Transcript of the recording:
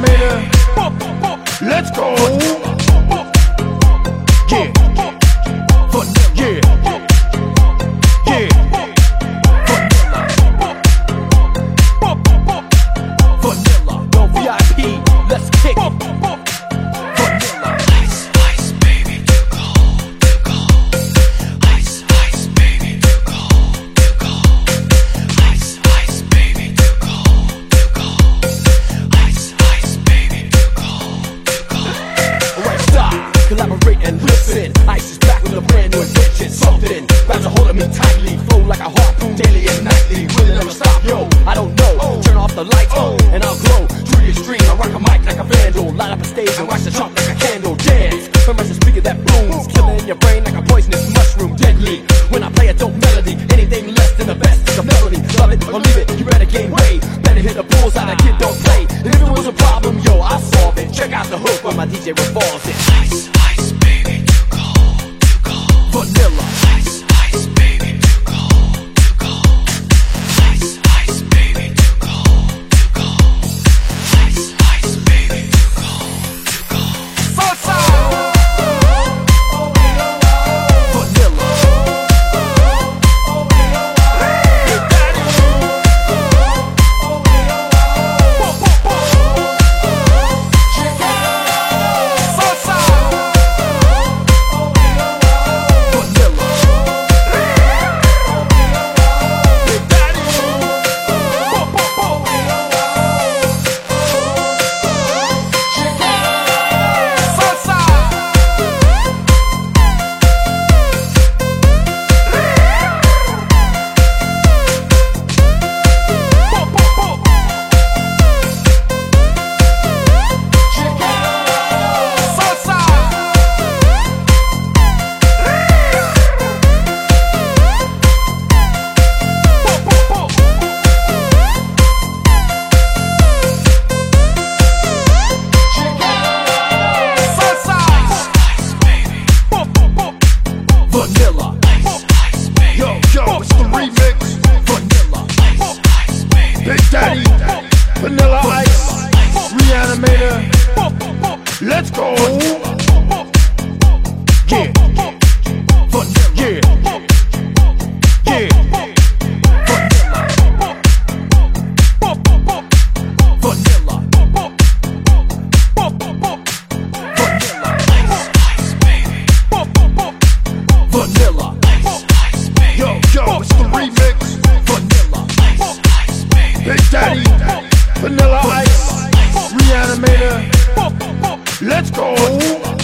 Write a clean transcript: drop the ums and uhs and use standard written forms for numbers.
Reanimator. Let's go. Yeah. Yeah. Yeah. Vanilla. Yo, VIP. Let's kick it. Vanilla. Ice, ice, baby, too cold, too cold. Ice, ice, baby, too cold, too cold. Ice, ice, baby, too cold, too cold. Ice, ice, baby, too cold, too cold. Alright, stop, collaborate and listen. Ice is back with a brand new invention. Something grabs a hold of me tightly, flow like a harpoon daily and nightly. Will it ever stop? Yo, I don't know. Turn off the lights and I'll glow. Through your stream, I rock a mic like a vandal. Light up a stage and watch the trump like a candle. Dance, from a speaker that booms, killing your brain like a poisonous mushroom. Deadly, when I play a dope melody, anything less than the best is a melody. Love it or leave it, you better gain weight. Better hit the bullseye, that kid don't play. And if it was a problem, yo, I'll solve it. Check out the hook when my DJ revolves it. Ice, ice, baby, too cold, too cold. Vanilla. Ice, ice, baby, too cold, too cold. Ice, ice, baby, too cold, too cold. Ice, ice, baby, too cold, too cold. Vanilla. Yo, it's the remix. Vanilla. Big Daddy. Vanilla Ice. Reanimator. Let's go. Yeah. Yeah. Yeah. Vanilla. Vanilla. Vanilla. Vanilla. Yo, it's the remix. Vanilla. Big Daddy. Vanilla Ice. Reanimator. Let's go.